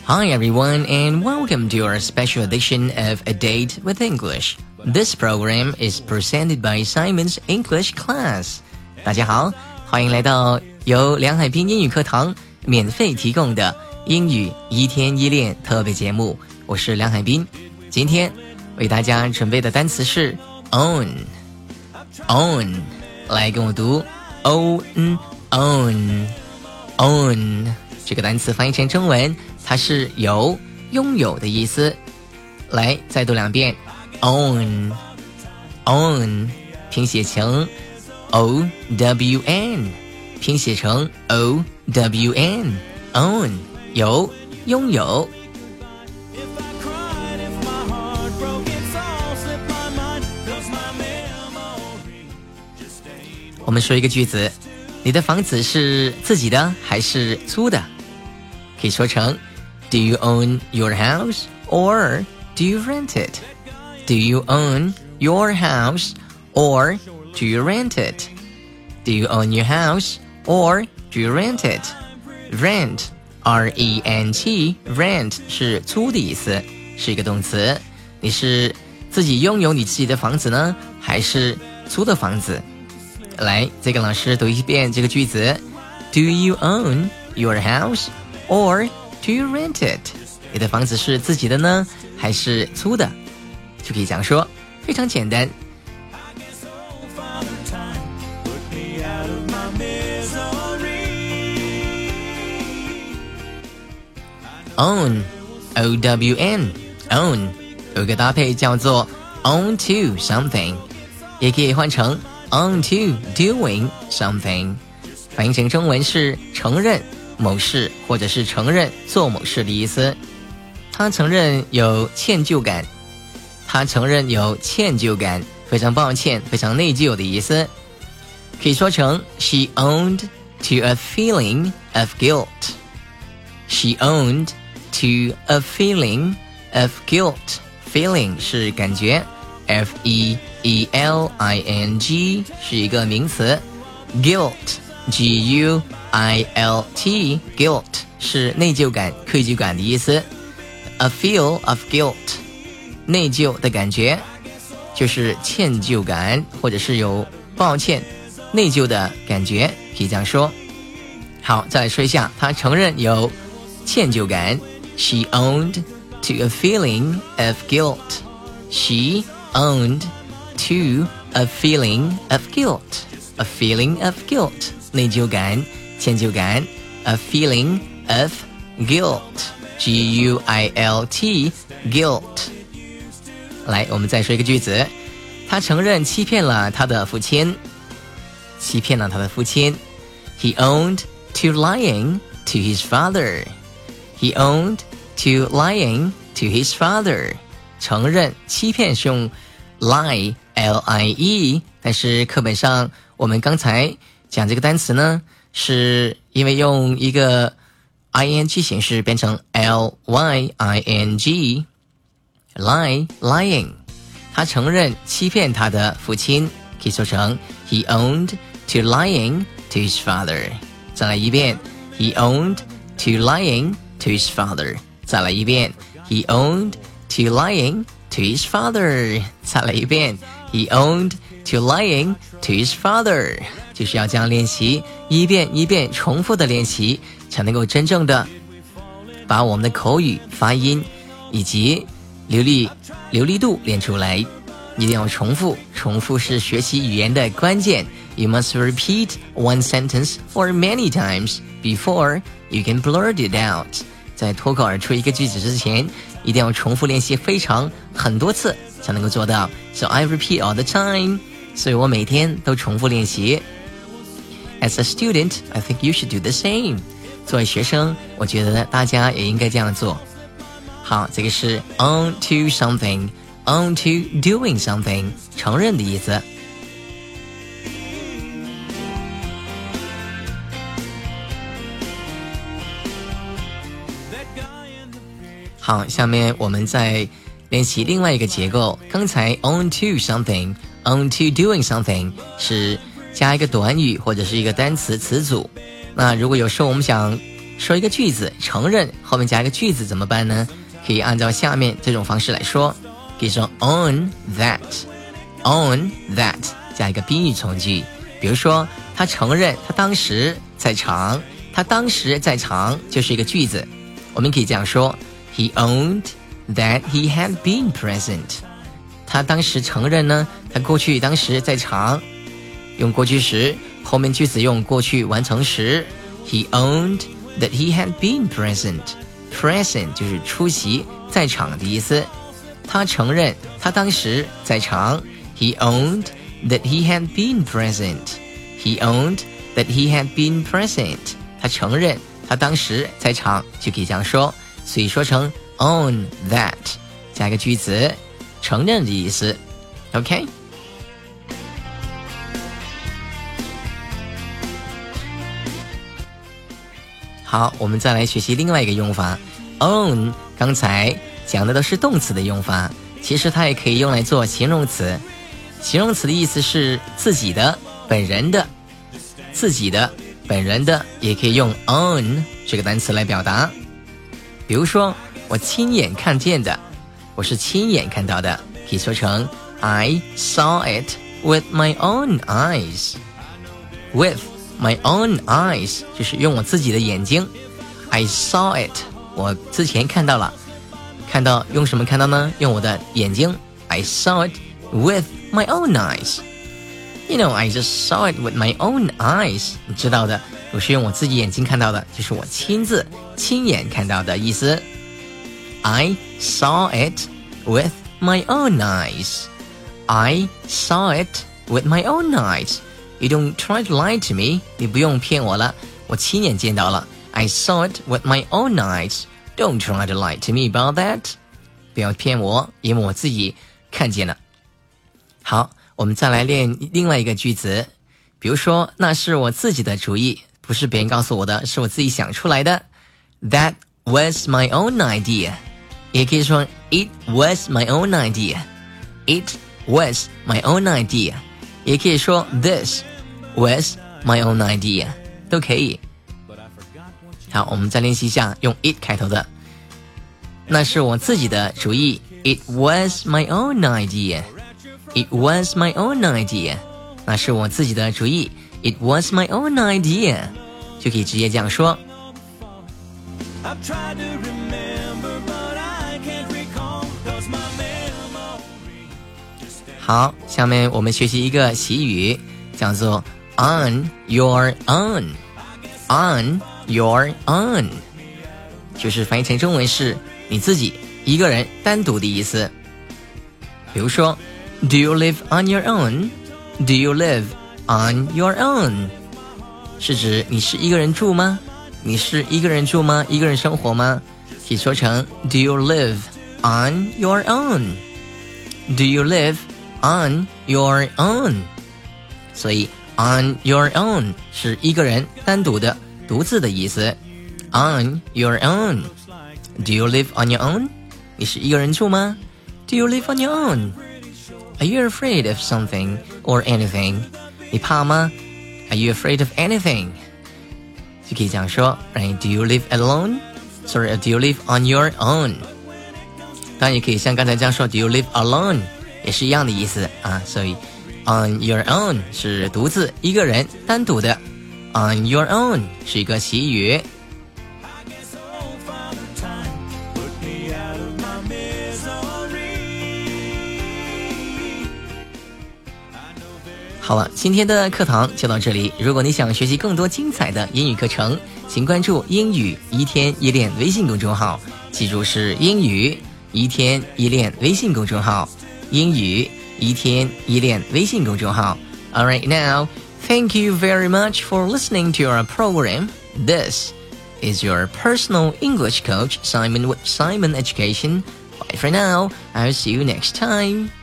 Hi everyone and welcome to our special edition of A Date with English. This program is presented by Simon's English Class. 大家好，欢迎来到由梁海滨英语课堂免费提供的英语一天一练特别节目，我是梁海滨。今天为大家准备的单词是 own， 来跟我读 own。这个单词翻译成中文，它是有拥有的意思。来，再读两遍 own， 拼写成 OWN， 拼写成 OWN， own 有拥有。我们说一个句子，你的房子是自己的还是租的？可以说成 Do you own your house or do you rent it? Do you own your house or do you rent it? Do you own your house or do you rent it? Rent, R-E-N-T, rent 是租的意思，是一个动词。你是自己拥有你自己的房子呢，还是租的房子？来，再跟老师读一遍这个句子 Do you own your house or do you rent it? 你的房子是自己的呢，还是租的？就可以这样说，非常简单。Own, O-W-N, own 有一个搭配叫做 own to something， 也可以换成 on to doing something， 翻译成中文是承认某事或者是承认做某事的意思。他承认有歉疚感，非常抱歉，非常内疚的意思。可以说成 She owned to a feeling of guilt. She owned to a feeling of guilt. Feeling 是感觉 F-E-E-L-I-N-G 是一个名词 Guilt G-U-I-L-T Guilt 是内疚感、愧疚感的意思。 A feel of guilt 内疚的感觉就是歉疚感，或者是有抱歉、内疚的感觉，可以这样说。好，再来说一下，他承认有歉疚感 She owned to a feeling of guilt. She owned to a feeling of guilt. A feeling of guilt 内疚感、歉疚感 A feeling of guilt G-U-I-L-T Guilt 来，我们再说一个句子，他承认欺骗了他的父亲。He owned to lying to his father. He owned to lying to his father. 承认欺骗是用 lie L-I-E， 但是课本上我们刚才讲这个单词呢，是因为用一个 ing 形式变成 L-Y-I-N-G lying。 他承认欺骗他的父亲，可以说成 He owned to lying to his father。 再来一遍 He owned to lying to his father。 再来一遍 He owned to lying to his father。 再来一遍 He owned to lying to his father。 就是要这样练习，一遍一遍重复的练习，才能够真正的把我们的口语发音以及流利度练出来。一定要重复，重复是学习语言的关键。 You must repeat one sentence for many times before you can blurt it out。 在脱口而出一个句子之前，一定要重复练习很多次才能够做到。 So I repeat all the time， 所以我每天都重复练习。 As a student, I think you should do the same。 作为学生，我觉得大家也应该这样做。好，这个是 own to something， own to doing something， 承认的意思。好，下面我们再练习另外一个结构。刚才 own to something, own to doing something 是加一个短语或者是一个单词词组。那如果有时候我们想说一个句子承认后面加一个句子怎么办呢？可以按照下面这种方式来说，可以说 on that 加一个宾语从句。比如说他承认他当时在场，他当时在场就是一个句子，我们可以这样说 He owned that he had been present。 他当时承认呢，他过去当时在场，用过去时，后面句子用过去完成时。 He owned that he had been present。 present 就是出席在场的意思。他承认他当时在场。 He owned that he had been present。 He owned that he had been present。 他承认他当时在场，就可以这样说。所以说成 own that 加一个句子，承认的意思。 OK， 好，我们再来学习另外一个用法。 own 刚才讲的都是动词的用法，其实它也可以用来做形容词。形容词的意思是自己的、本人的，自己的、本人的也可以用 own 这个单词来表达。比如说我亲眼看见的，我是亲眼看到的，可以说成 I saw it with my own eyes。 With my own eyes 就是用我自己的眼睛。 I saw it 我之前看到了，看到用什么看到呢？用我的眼睛。 I saw it with my own eyes。 You know, I just saw it with my own eyes。 你知道的，我是用我自己眼睛看到的，就是我亲眼看到的意思。 I saw it with my own eyes。 I saw it with my own eyes。 You don't try to lie to me。 你不用骗我了，我亲眼见到了。 I saw it with my own eyes。 Don't try to lie to me about that。 不要骗我，因为我自己看见了。好，我们再来练另外一个句子。比如说那是我自己的主意，不是别人告诉我的，是我自己想出来的。 That was my own idea。 也可以说 It was my own idea。 It was my own idea。 也可以说 This was my own idea， 都可以。好，我们再练习一下用 it 开头的。那是我自己的主意。 It was my own idea。 It was my own idea。 那是我自己的主意。 It was my own idea。 就可以直接这样说。好，下面我们学习一个习语，叫做 on your own。 On your own 就是翻译成中文是你自己一个人单独的意思。比如说 Do you live on your own？ Do you live on your own？ 是指你是一个人住吗？你是一个人住吗？一个人生活吗？可以说成 Do you live on your own？ Do you live on your own？ 所以 on your own 是一个人单独的独自的意思。 On your own。 Do you live on your own？ 你是一个人住吗？ Do you live on your own？ Are you afraid of something or anything？ 你怕吗？ Are you afraid of anything？ 就可以这样说 right? Do you live alone？ Sorry, do you live on your own？ 当然也可以像刚才这样说 Do you live alone？ 也是一样的意思啊。所以 on your own 是独自一个人单独的。On your own 是一个习语。好了，今天的课堂就到这里。如果你想学习更多精彩的英语课程，请关注英语一天一练微信公众号，记住是英语一天一练微信公众号，英语一天一练微信公众号。Alright, now, thank you very much for listening to our program. This is your personal English coach, Simon with Simon Education. Bye for now. I'll see you next time.